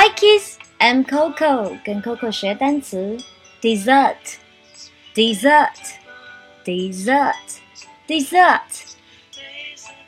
Hi kids, I'm Coco， 跟 Coco 学单词 dessert, dessert, dessert, dessert。